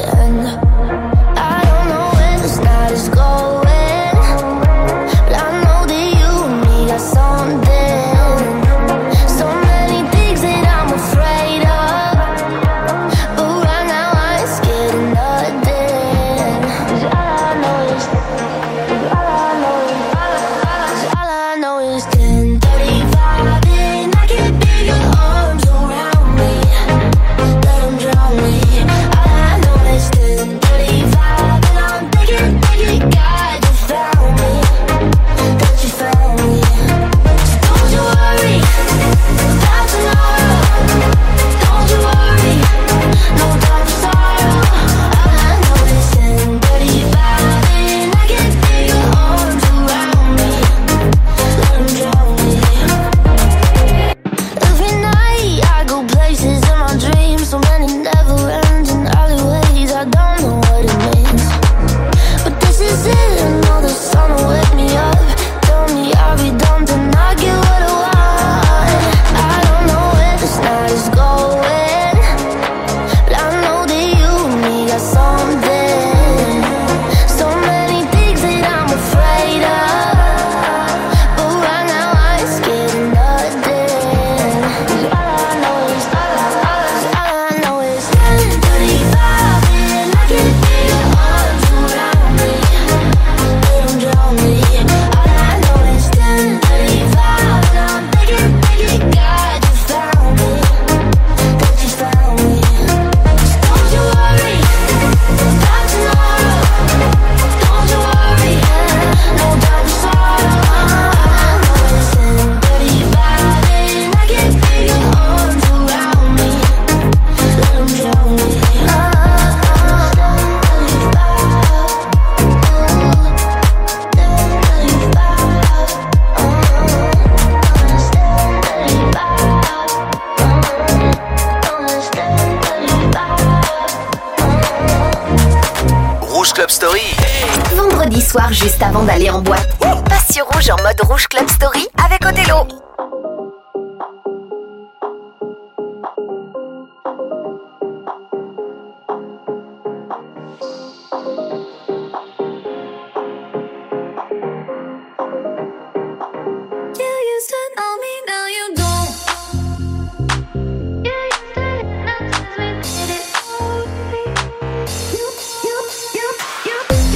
Vendredi soir, juste avant d'aller en boîte, passe sur Rouge en mode Rouge Club Story avec Othello.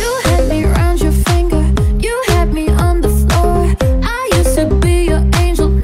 Angel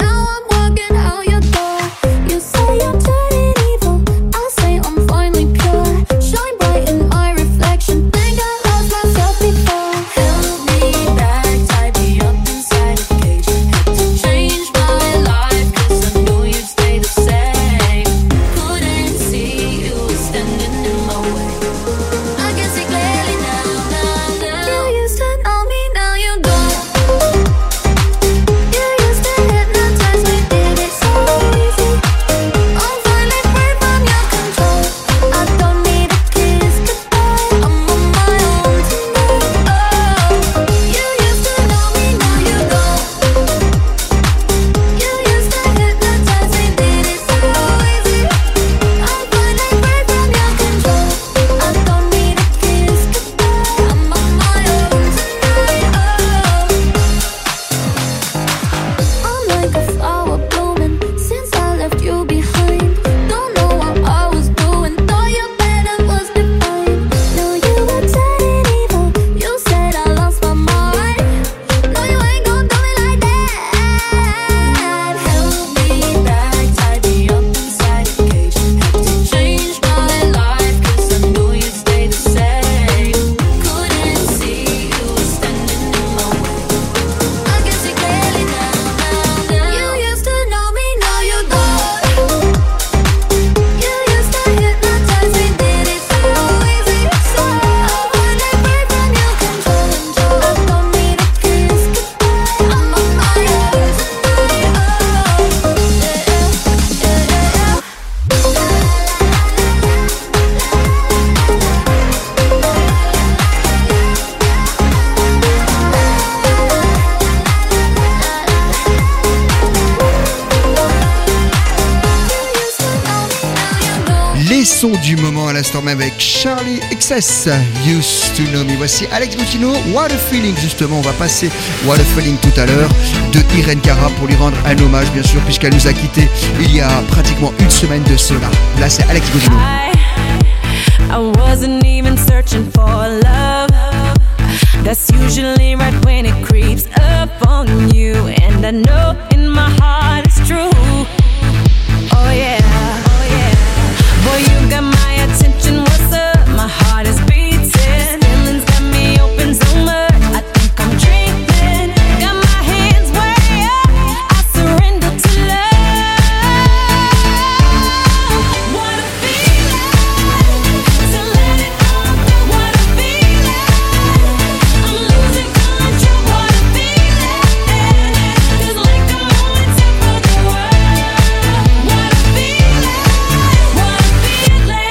Les sons du moment à l'instant même avec Charlie XS, Used to Know Me. Voici Alex Gautino, What a Feeling. Justement, on va passer What a Feeling tout à l'heure de Irene Cara pour lui rendre un hommage, bien sûr, puisqu'elle nous a quittés il y a pratiquement une semaine de cela. Là, c'est Alex Gautino. I wasn't even searching for love. That's usually right when it creeps up on you. And I know in my heart it's true. Oh yeah, oh yeah. Boy, you got my attention, what's up? My heart is beating. Feelings got me open so much, I think I'm dreaming. Got my hands way up, I surrender to love. What a feeling, to let it all go. What a feeling, I'm losing control. What a feeling, feels like I'm on top of the world. What a feeling, what a feeling.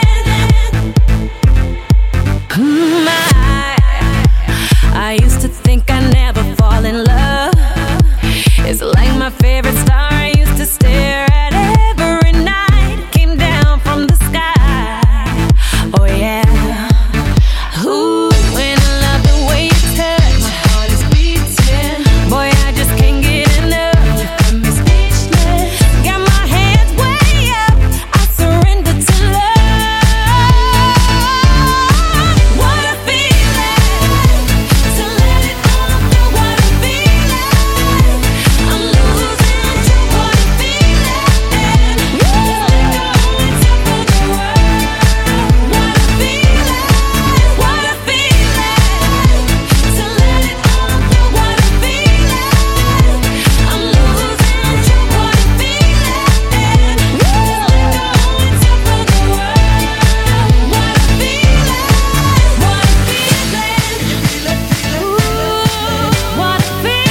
I used to think I'd never fall in love. It's like my favorite star I used to stare at every night. Came down from the sky. Oh yeah. Ooh, when I love the way you touch, my heart is beating. Boy, I just can't get enough. You got me speechless. Got my hands way up, I surrender to love. What a feeling, to let it all go. What a feeling, I'm losing control. What a feeling, feels like I'm on top of the world. What a feeling, what a feeling, to let it all go. What a feeling, I'm losing control. What a feeling, feels like I'm on top of the world. What a feeling, what a feeling, ooh, what a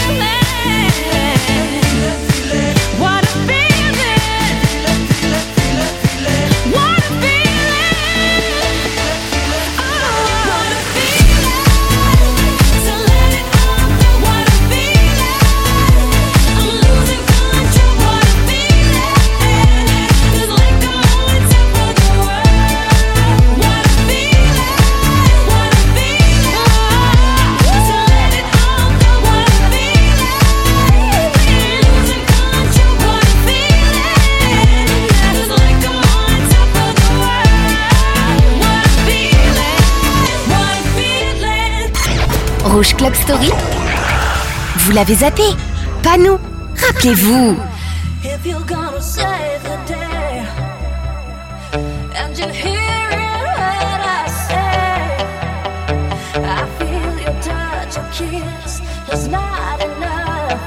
feeling, what a feeling, what a feeling, oh, what a feeling, to let it all go. What a feeling, I'm losing control. What a feeling, feels like I'm on top of the world. What a feeling, what a feeling, to let it all go. What a feeling, losing control. What a feeling, feels like I'm on top of the world. What a feeling, what a feeling. Rouge Club Story. Vous l'avez zappé? Pas nous. Rappelez-vous. If you're gonna save the day, and you hear what I say, I feel your touch, your kiss is not enough.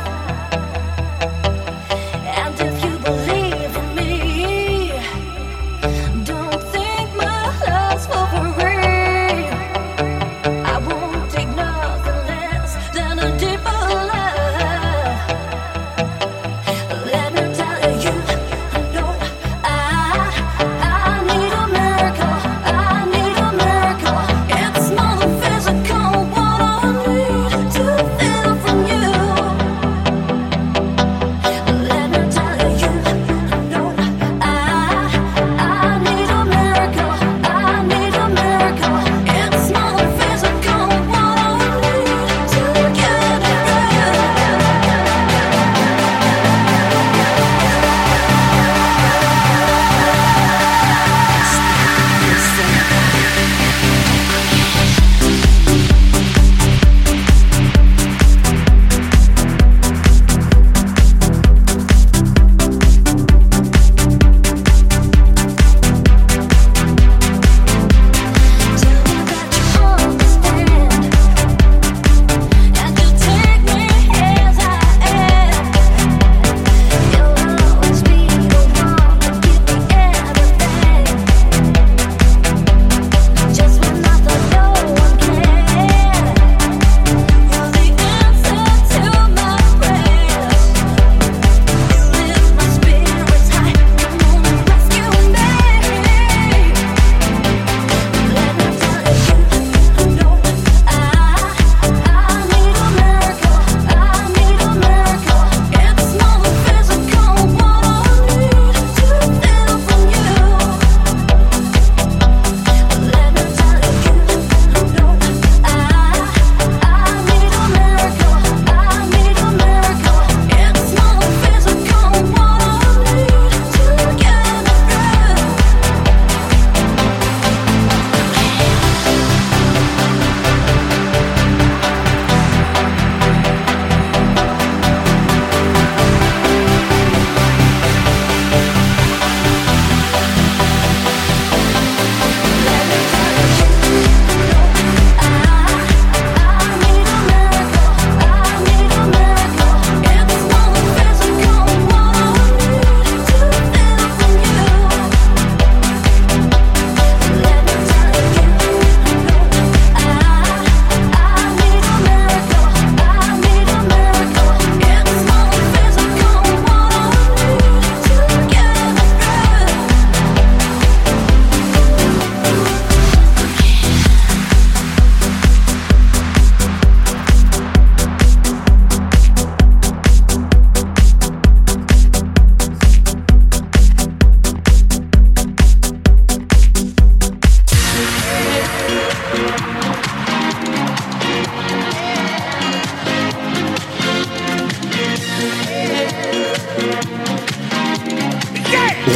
And if you believe in me, don't think my love's for free. I won't take nothing less than a deeper love. Let me tell you, I know I need a miracle. I need a miracle. It's more than physical. What I need to feel from you.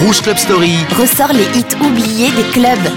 Rouge Club Story ressort les hits oubliés des clubs.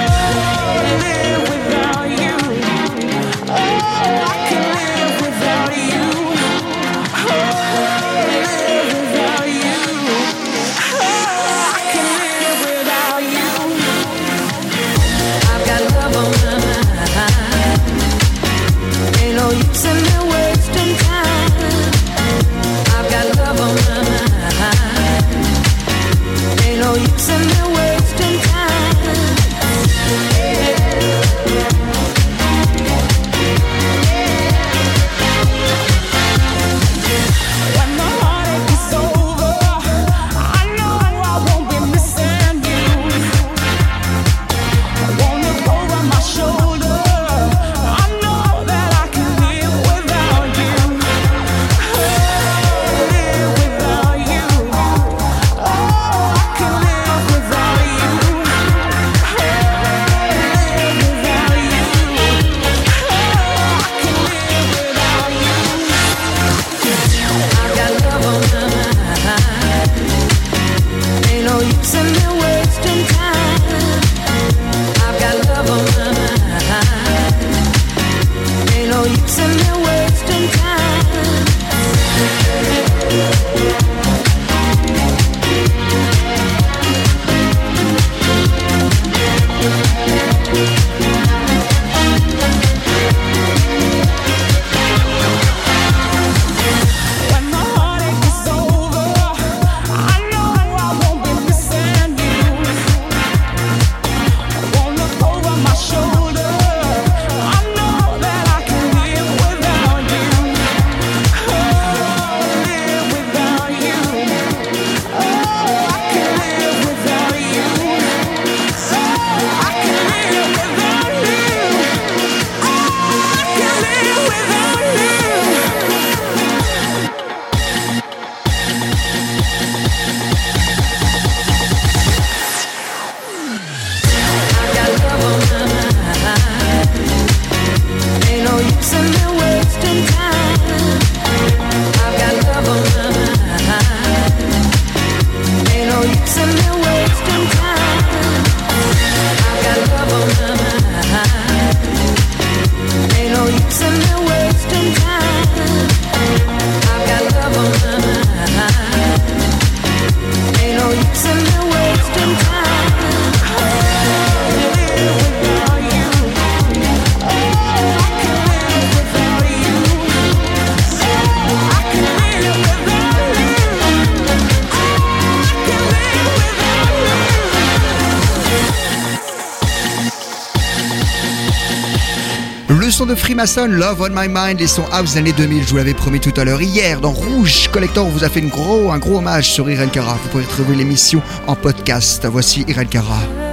Le son de Freemason, Love on My Mind et son house des années 2000, je vous l'avais promis tout à l'heure. Hier, dans Rouge Collector, on vous a fait un gros hommage sur Irene Cara. Vous pouvez retrouver l'émission en podcast. Voici Irene Cara.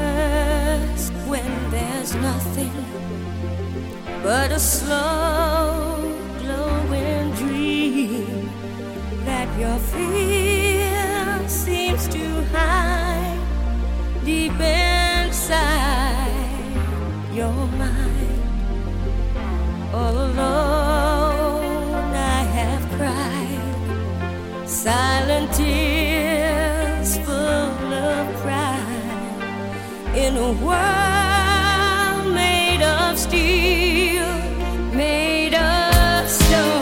When there's nothing but a slow glowing dream that your fear seems to hide deep inside your mind. All alone I have cried silent tears full of pride in a world made of steel, made of stone.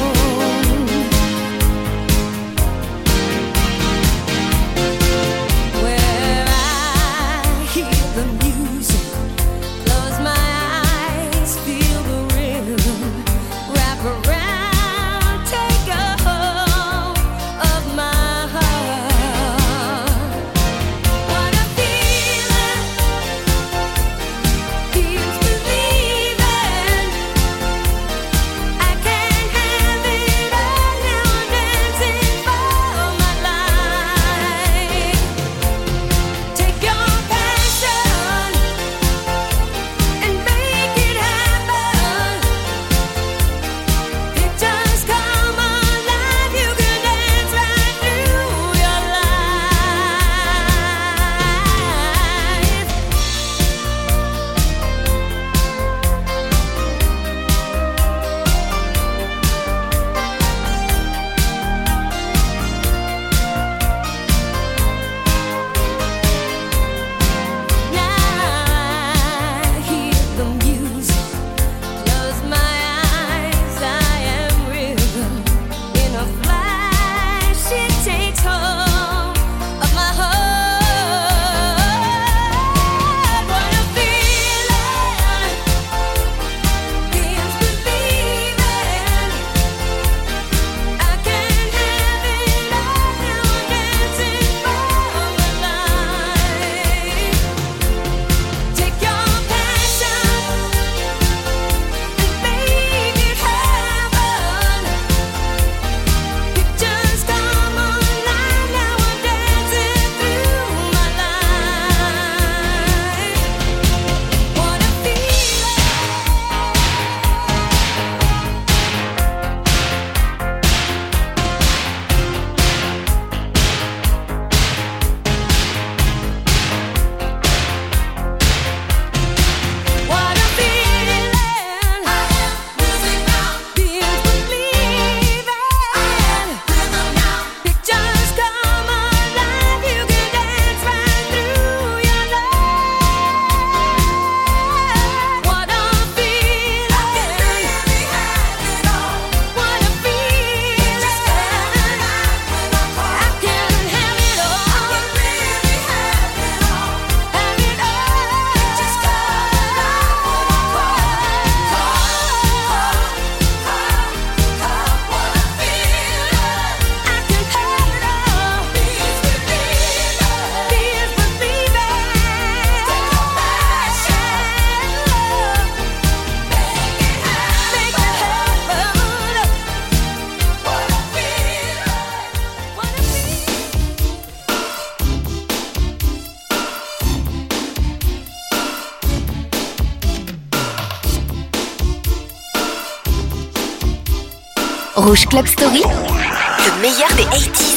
Where I hear the music, close my eyes, feel the rhythm, wrap around, take a hold of my heart. What a feeling, feels believing. Rouge Club Story, le meilleur des 80s.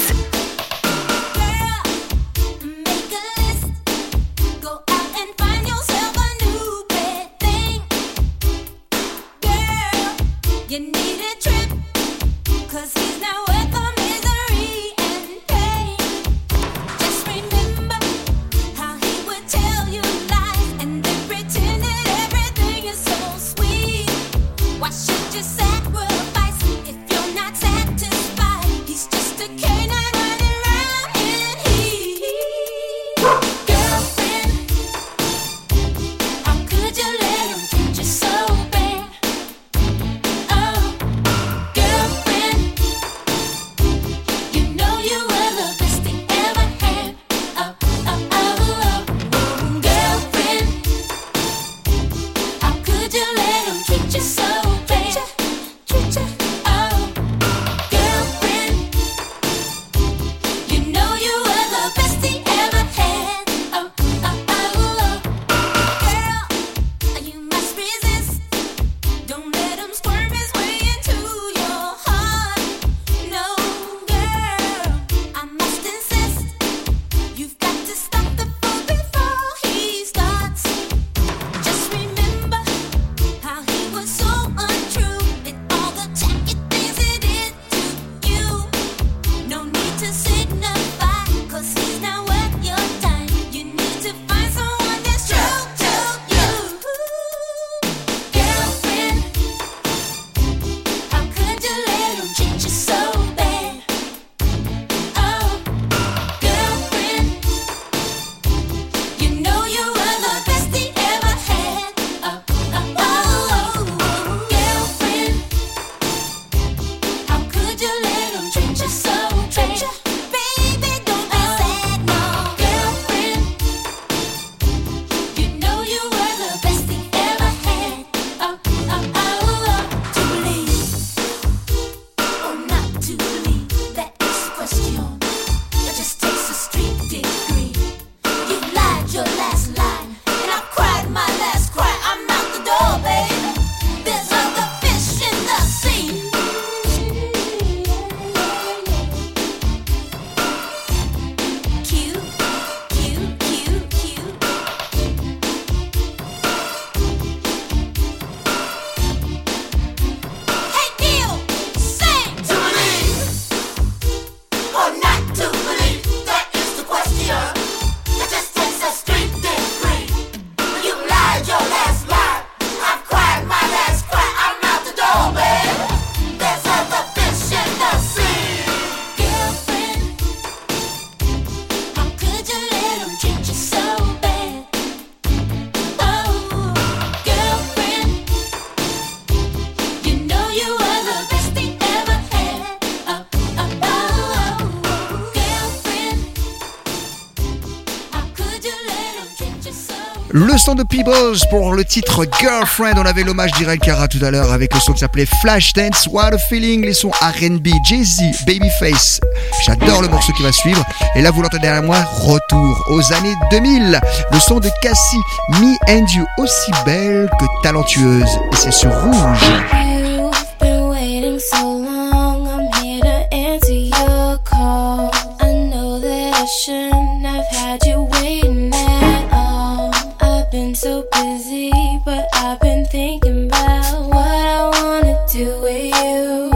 Le son de Peebles pour le titre Girlfriend. On avait l'hommage d'Irel Cara tout à l'heure avec le son qui s'appelait Flashdance. What a Feeling, les sons R&B, Jay-Z, Babyface. J'adore le morceau qui va suivre. Et là, vous l'entendez derrière moi, retour aux années 2000. Le son de Cassie, Me and You, aussi belle que talentueuse. Et c'est sur Rouge. You've been waiting so long, I'm here to answer your call. I know that I shouldn't have had you waiting at all. I've been so busy, but I've been thinking about what I wanna do with you.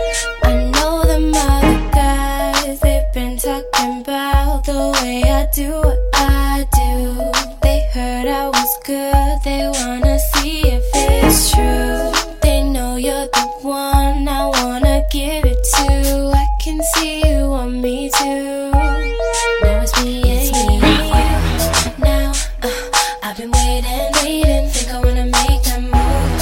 I know them other guys, they've been talking about the way I do what I do. They heard I was good, they wanna see if it's true. They know you're the one I wanna give it to. I can see you want me too. Now it's me and you. Now I've been waiting, think I wanna make that move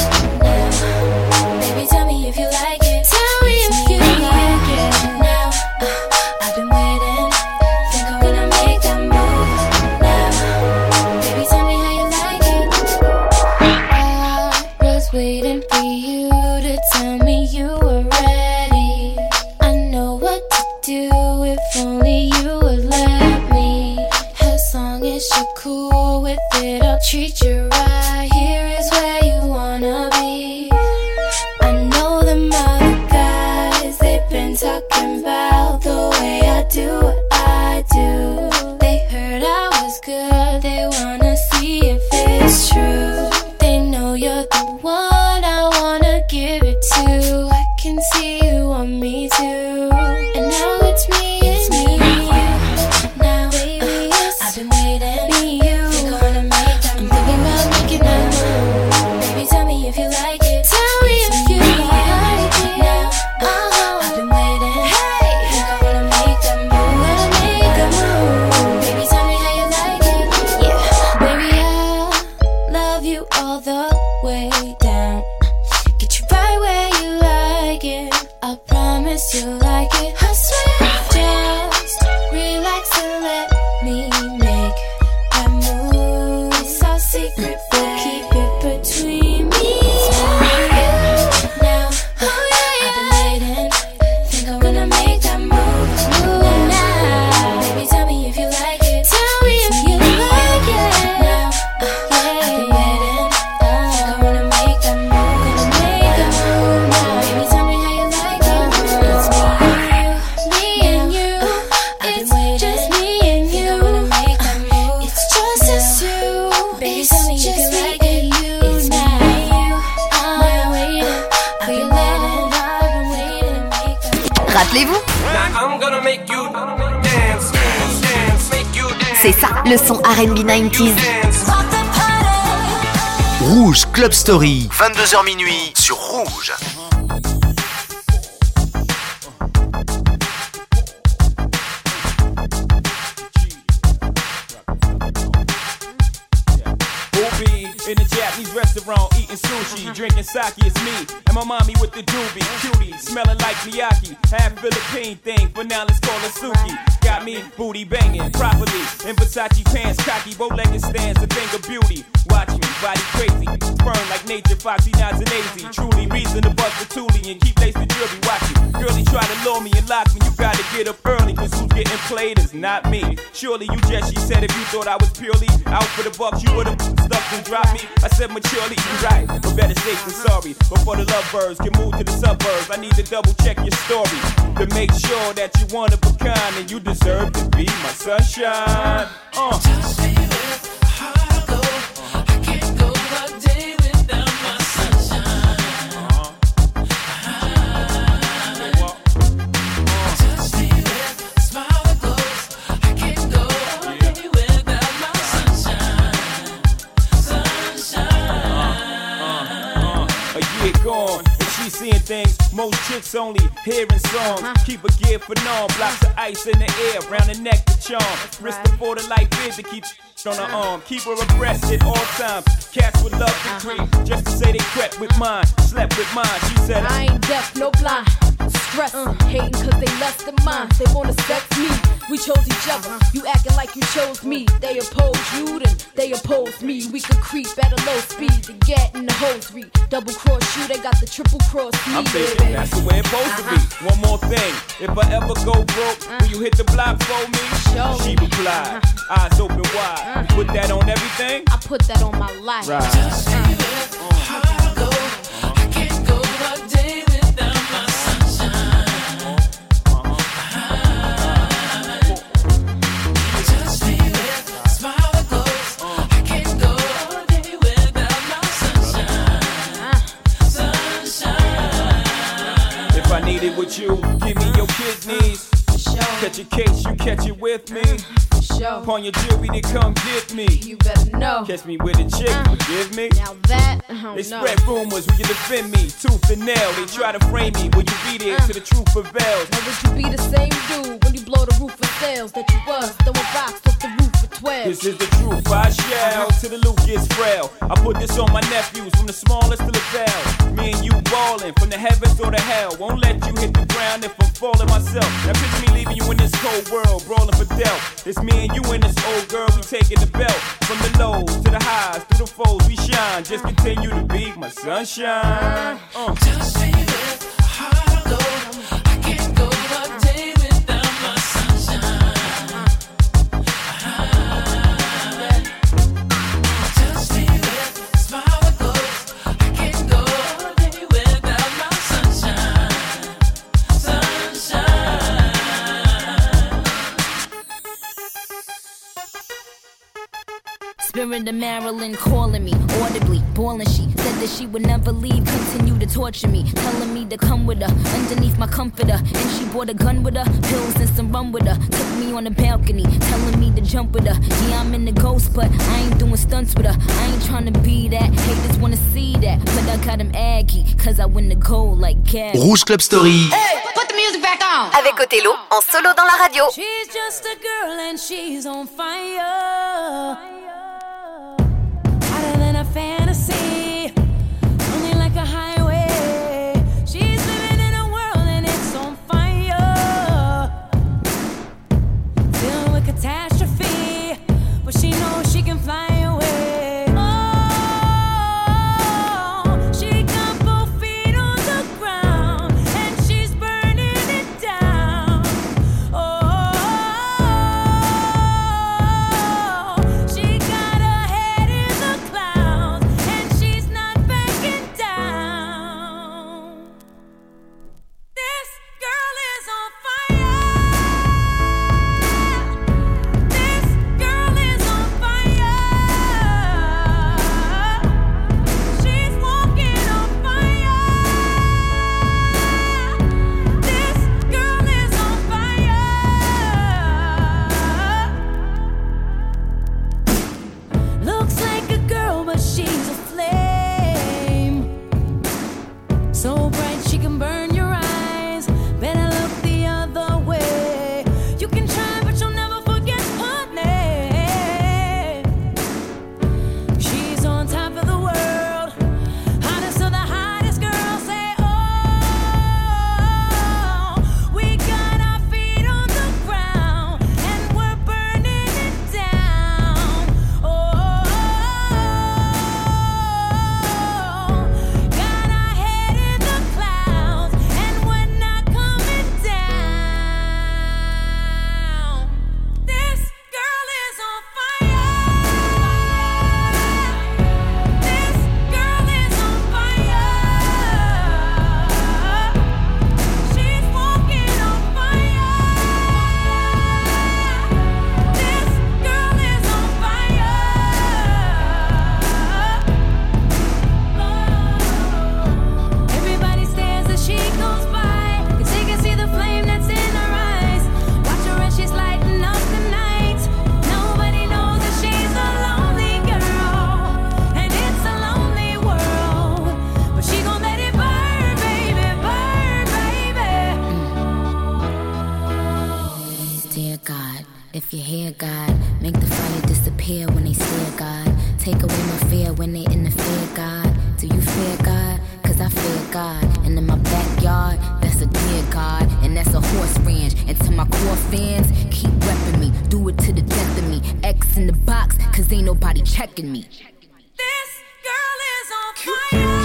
now. Baby, tell me if you like it. Tell me if you like it. Now I've been waiting, think I wanna make that move now. Baby, tell me how you like it. I was waiting for you to tell me you were ready. I know what to do if only you would let me. As long as you're cool with it, I'll treat you right. Here love you all the way down. Get you right where you like it. I promise you'll like it. I swear, just relax and let me make that move. It's our secret, but keep it between me and you. Now, I've been waiting. Think I'm gonna make that move now. Baby, tell me if you like it. Tell me if you like it. Now, I've been waiting. Think I'm gonna make that move. Gonna make that move now. Baby, tell me how you like it. It's me and you. It's just me and you. Gonna make that move. It's just us two. Baby, tell me if you like it. It's me and you. I'm waiting. I've been waiting. I've been waiting to make that move. Rappelez-vous, Now I'm gonna make you dance, dance, make you dance. c'est ça, le son R&B 90s. Dance. Rouge Club Story, 22h minuit sur Rouge. Booby in a Japanese restaurant eating sushi, drinking sake. It's me and my mommy with the doobie, cutie, smelling like Miyaki. Half Philippine thing, but now let's call her Suki. Got me booty banging properly in Versace pants, cocky, bow-legged stands, a thing of beauty. Watch me, body crazy, firm like nature, foxy, nods and lazy. Truly reason to bust the toolie and keep lace the jewelry. Watch me, girlie try to lure me and lock me. You gotta get up early, cause who's getting played is not me. Surely you just, she said, if you thought I was purely out for the bucks, you would've stuck and dropped me. I said maturely, you right, but better safe than sorry. Before the lovebirds can move to the suburbs, I need to double check your story to make sure that you one of a kind and you deserve to be my sunshine. Gone, and she seeing things most chicks only hearing songs. Keep a gear for norm, blocks of ice in the air, round the neck to charm. Wrist before the light is to keep on her arm. Keep her abreast at all times. Cats would love to creep, just to say they crept with mine, slept with mine. She said I ain't deaf, no blind. Stressing, hating cause they lust in mine. They wanna sex me, we chose each other. You acting like you chose me. They oppose you, then they oppose me. We could creep at a low speed to get in the hosiery. Double cross you, they got the triple cross me. I'm thinking that's the way it's supposed to be. One more thing, if I ever go broke, will you hit the block for me? Show She me. replied, eyes open wide. You put that on everything? I put that on my life. If I need it with you, give me your kidneys. Catch a case, you catch it with me. Upon your jewelry to come get me. You better know. Catch me with a chick, forgive me. Now that, I don't They know. spread rumors, will you defend me? Tooth and nail, they try to frame me. Will you be there till the truth prevails? Now would you be the same dude when you blow the roof of sales that you was throwing rocks off the roof for 12? This is the truth, I shall, till the loot gets frail. I put this on my nephews, from the smallest to the vale. Me and you ballin', from the heavens or the hell. Won't let you hit the ground if I'm falling myself. Now picture me leaving you in this cold world, brawling for death. It's me and you and this old girl, we taking the belt. From the lows to the highs, through the foes, we shine. Just continue to be my sunshine. Just say that heart of gold. I can't go a day without my sunshine. Just say that smile that goes. I can't go a day without my sunshine. Sunshine. Spirit of Marilyn calling me audibly, bawling. She said that she would never leave, continue to torture me, telling me to come with her underneath my comforter. And she brought a gun with her, pills and some rum with her. Took me on the balcony, telling me to jump with her. Yeah, I'm in the ghost, but I ain't doing stunts with her. I ain't trying to be that, haters wanna see that, but I got him aggy, cause I win the gold like Gabby. Rouge Club Story. Hey, put the music back on. Avec Othello, en solo dans la radio. She's just a girl and she's on fire. Hotter than a fan. fear God? Do you fear God? Cause I fear God. And in my backyard, that's a dear God. And that's a horse ranch. And to my core fans, keep repping me. Do it to the death of me. X in the box, cause ain't nobody checking me. This girl is on fire.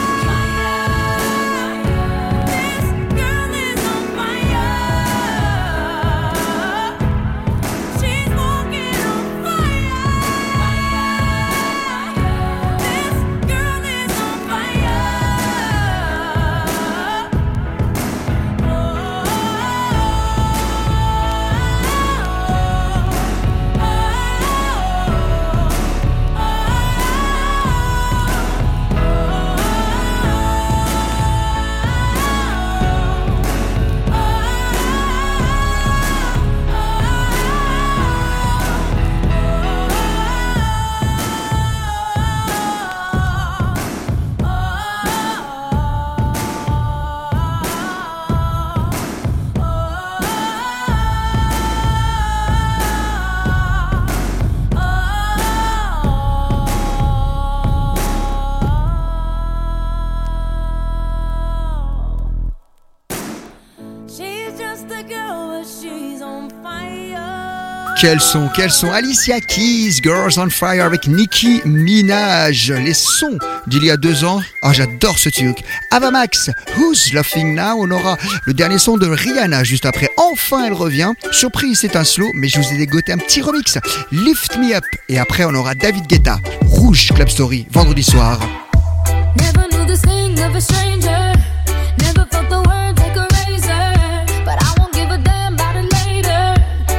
Quels sont Alicia Keys, Girls on Fire avec Nicki Minaj. Les sons d'il y a 2 ans. Ah, j'adore ce truc. Ava Max, Who's Laughing Now. On aura le dernier son de Rihanna juste après. Enfin, elle revient. Surprise, c'est un slow, mais je vous ai dégoté un petit remix. Lift Me Up. Et après, on aura David Guetta. Rouge Club Story, vendredi soir. Never knew the sting of a stranger. Never felt the word take a razor. But I won't give a damn about it later.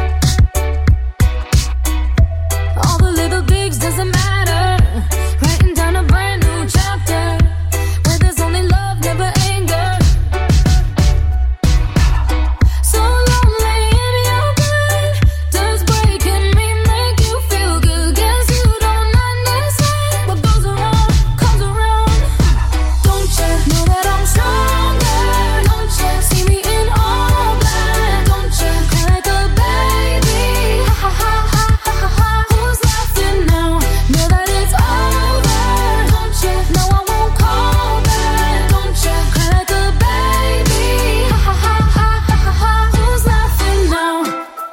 All the little things doesn't matter. Writing down a brand new chapter where there's only love, never anger. So lonely in your bed. Does breaking me make you feel good? Guess you don't understand what goes around comes around. Don't you know that I'm stronger? Don't you see me in all black? Don't you cry like a baby? Ha ha ha ha ha ha. Who's laughing now? Know that it's over. Don't you know I won't call back? Don't you cry like a baby? Ha ha ha ha ha ha. Who's laughing now?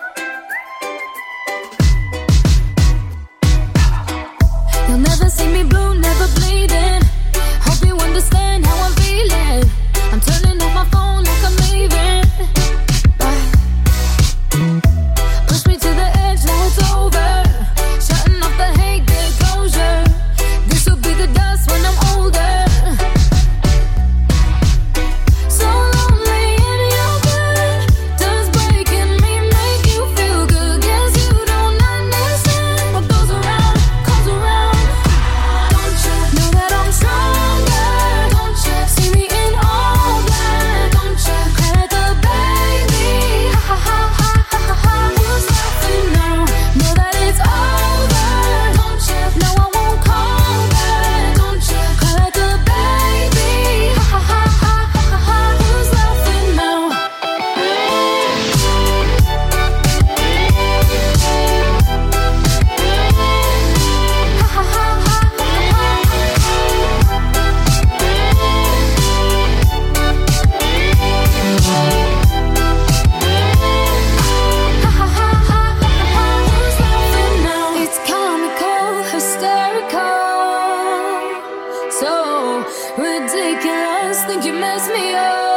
You'll never see me blue, never bleeding. Hope you understand how I'm feeling. I'm turning off my phone like I'm leaving. Bye. Push me to the edge, now it's over. Shutting off the hate, get closure. This will be the dust when I'm older. So lonely in your bed. Does breaking me make you feel good? Guess you don't understand what goes around comes around. Don't you know that I'm stronger? Don't you see me in all black? Don't you cry like a baby? Ha ha ha ha ha ha. Who's laughing now? Know that it's over. Don't you know I won't call back? Don't you cry like a baby? Ha ha ha ha ha ha. Who's laughing now? Ha ha ha ha Who's laughing now? It's comical, hysterical, so ridiculous. Think you messed me up.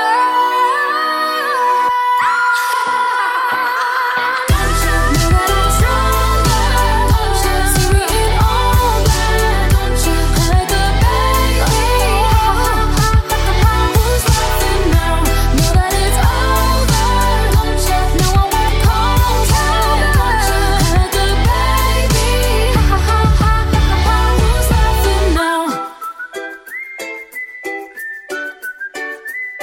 Don't you know that I'm stronger? Don't you see me in all black? Don't you cry like a baby? Who's laughing now? Know that it's over. Don't you know I won't call back? Don't you cry like a baby? Who's laughing now?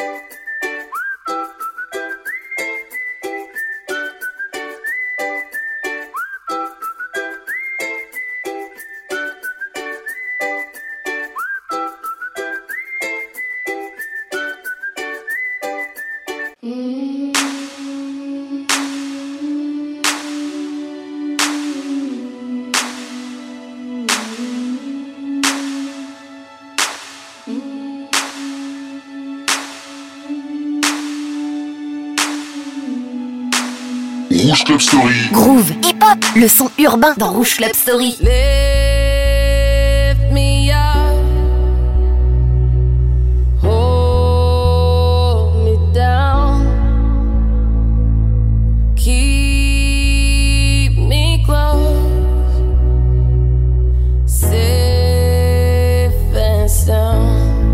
Rouge Club Story. Groove, hip-hop, le son urbain dans Rouge Club Story. Lift me up, hold me down, keep me close, safe and sound.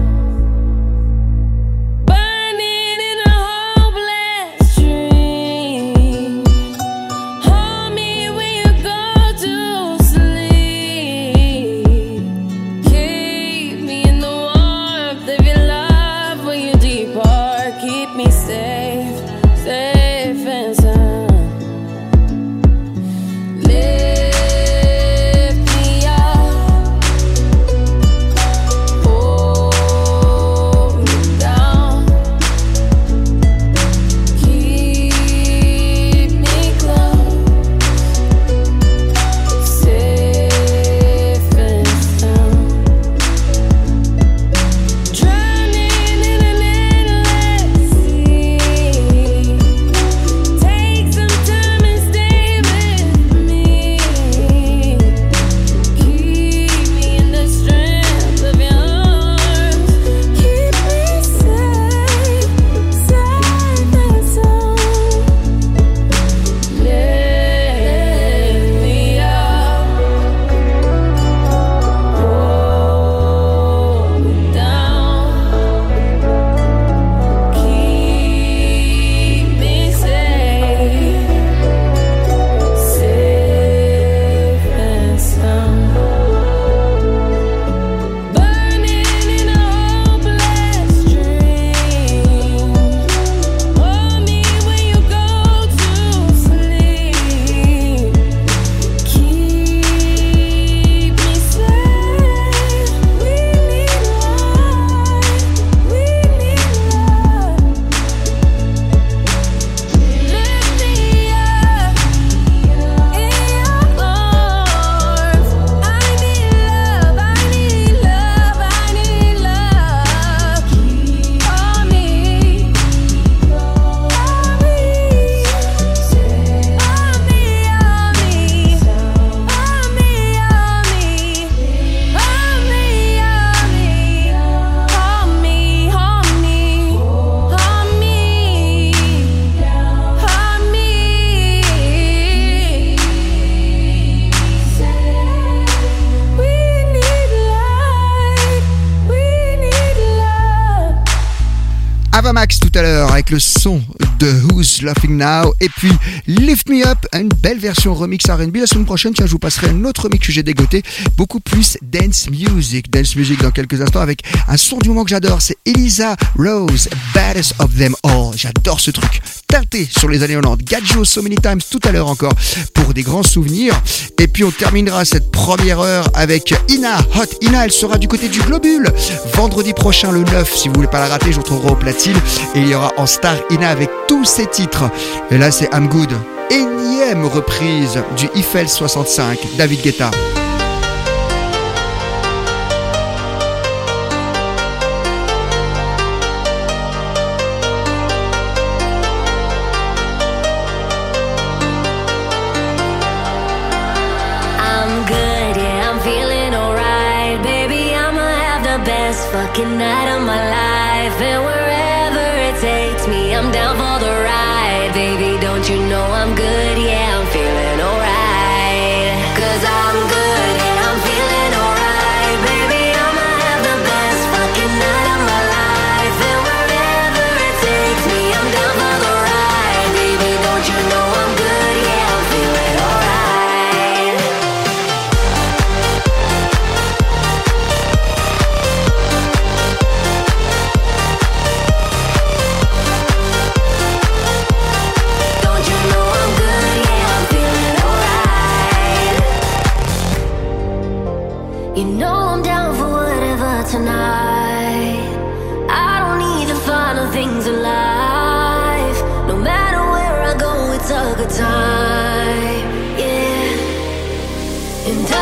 Max tout à l'heure avec le son de Who's Laughing Now et puis Lift Me Up, une belle version remix R&B. La semaine prochaine, tiens, je vous passerai un autre remix que j'ai dégoté, beaucoup plus dance music dans quelques instants avec un son du moment que j'adore, c'est Elisa Rose, Baddest of Them All. J'adore ce truc, teinté sur les années 90, Gadjo So Many Times tout à l'heure encore pour des grands souvenirs. Et puis on terminera cette première heure avec Ina, Hot Ina, elle sera du côté du Globule vendredi prochain le 9, si vous voulez pas la rater, je vous retrouverai au platine. Et il y aura en star Ina avec tous ses titres. Et là c'est I'm Good, énième reprise du Eiffel 65, David Guetta. Fucking night of my life, and wherever it takes me, I'm down for the ride. Baby, don't you know I'm good? Yeah, I'm feeling alright. 'Cause I'm good, yeah, I'm feeling alright. Baby, I'ma have the best fucking night of my life, and wherever it takes me, I'm down for the ride. Baby, don't you know I'm good? Yeah, I'm feeling alright. You know I'm down for whatever tonight. I don't need the final things in life. No matter where I go, it's a good time. Yeah. And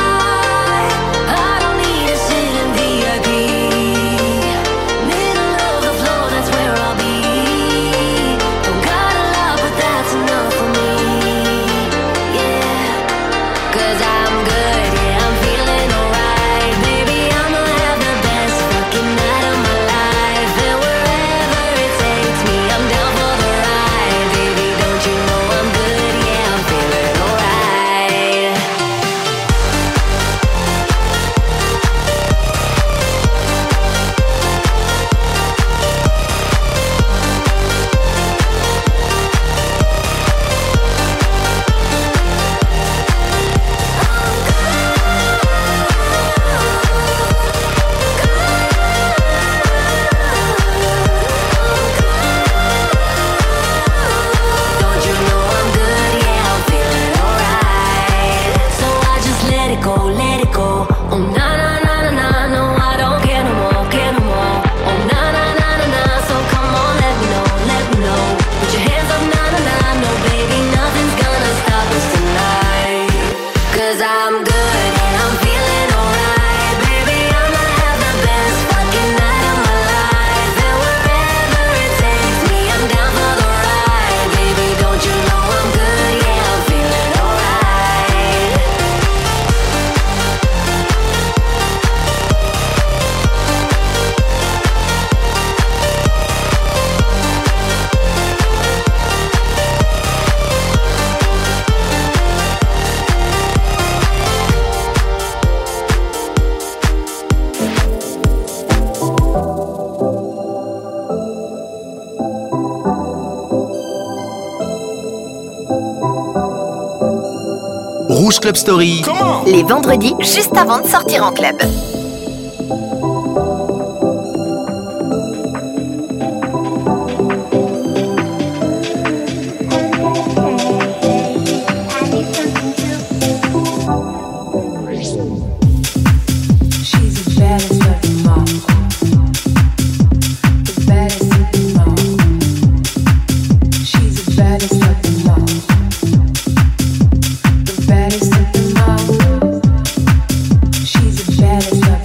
I don't need to sit in VIP. Middle of the floor, that's where I'll be. Don't got a lot, but that's enough for me. Rouge Club Story. Les vendredis, juste avant de sortir en club. She's a jealous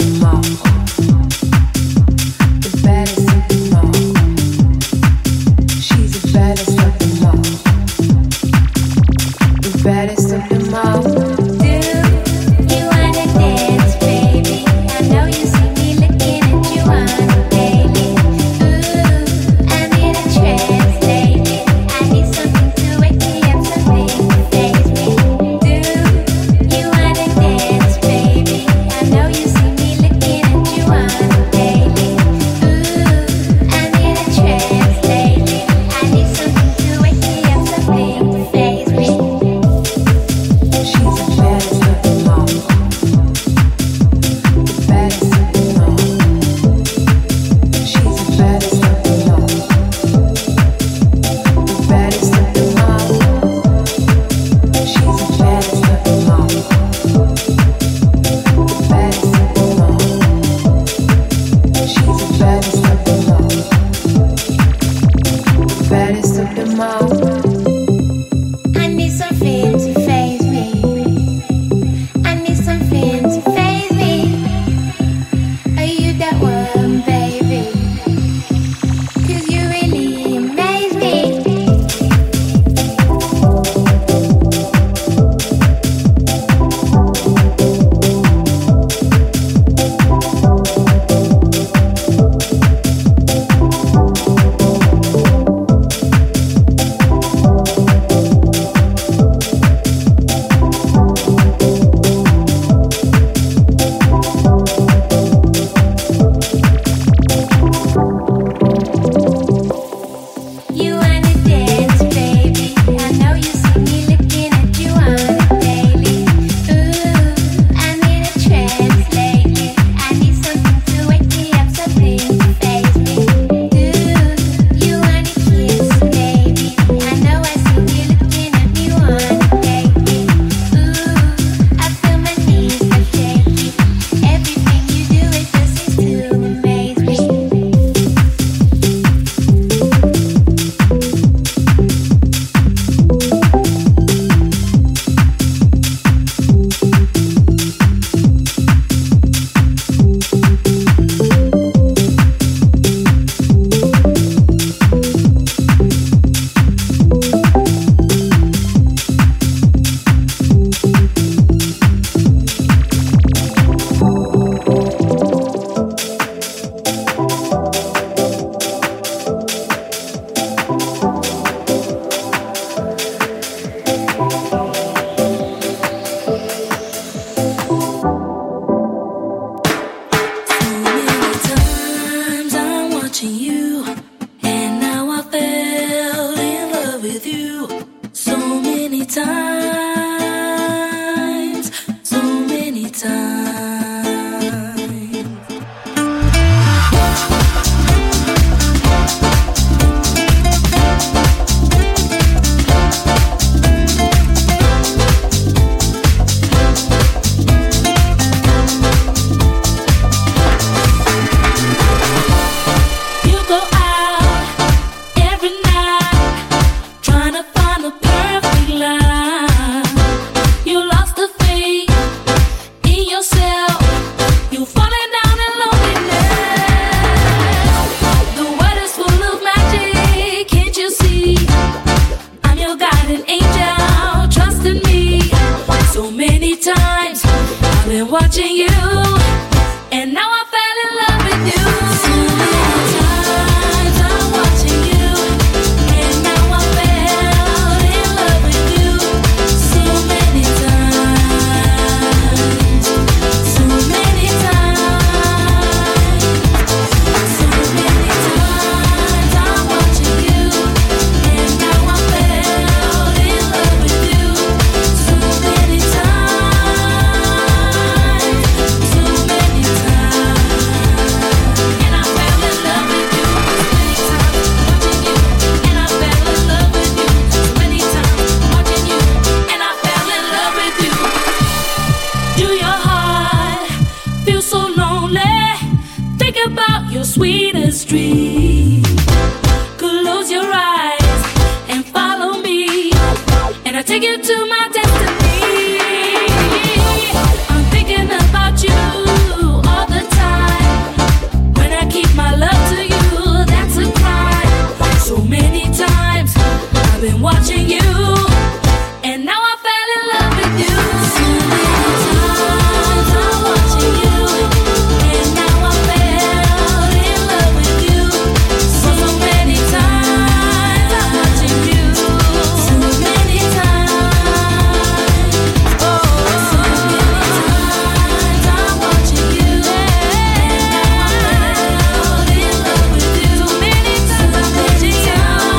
lonely, think about your sweetest dream. Close your eyes and follow me, and I take you to my destiny. I'm thinking about you all the time. When I keep my love to you, that's a crime. So many times I've been watching you, and now I fell in love with you. So many times I'm watching you, and now I fell in love with you. So many times I'm watching you. So many times. Oh, so many times I'm watching you, and now I fell in love with you. So many times I'm watching you.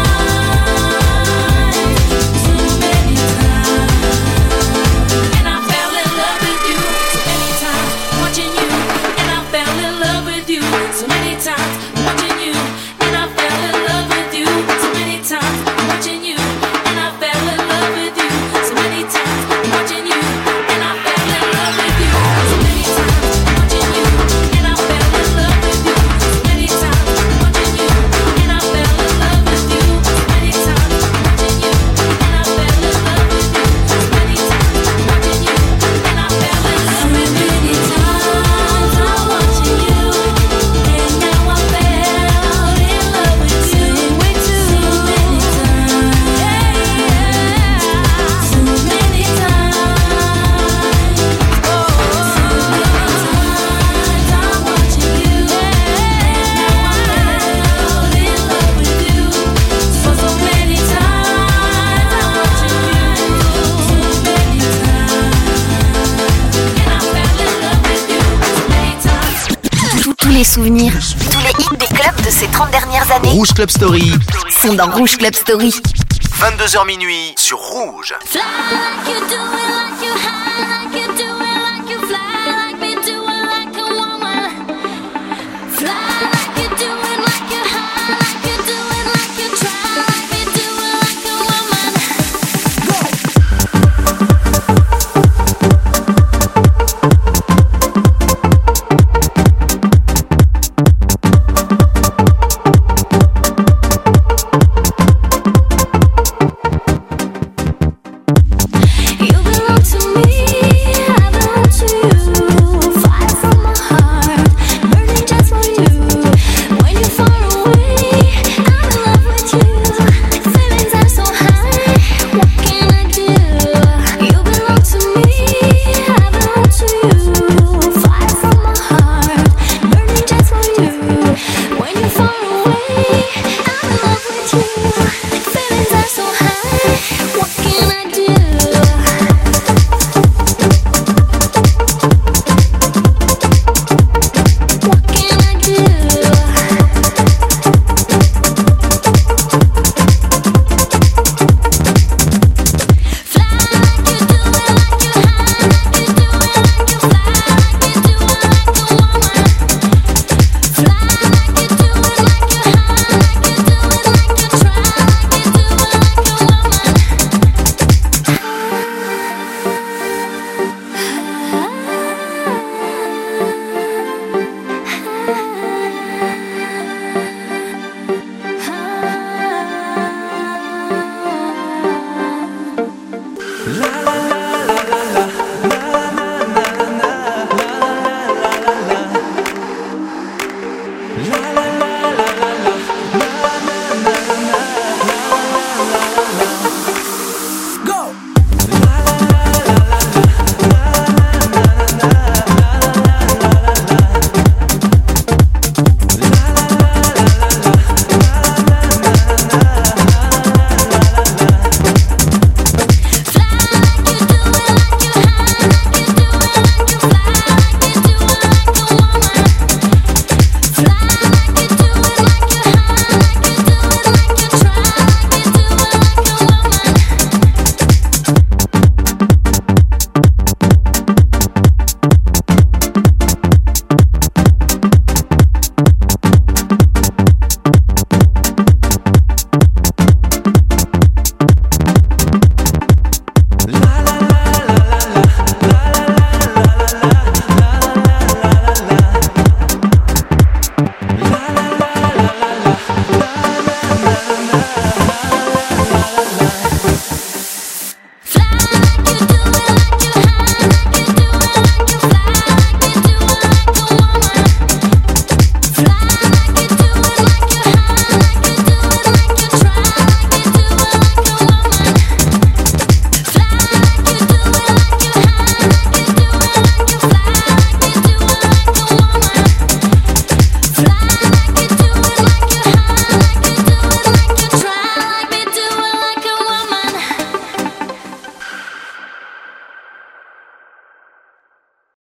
So many times. And I fell in love with you. So many times watching you, and I fell in love with you. So many times watching you, and I fell in love with you. So many times watching you, and I fell in love with you. So many times watching you, and I fell in love with you. So many times watching you, and I fell in love with you. So many times watching you, and I fell in love with you. So many times watching you, and I fell in love with you. So many times watching you, and I fell in love with you. So many times I'm watching you, and now I fell in love with you. Way too many times. So many times. Oh, so many times I'm watching you, and now I fell in love with you. So many times I'm watching you. So many times, and I fell in love with you. So many times. Tous les souvenirs, tous les hits des clubs de ces 30 dernières années Rouge Club Story, sont dans Rouge Club Story. 22h minuit sur Rouge. Fly like you do it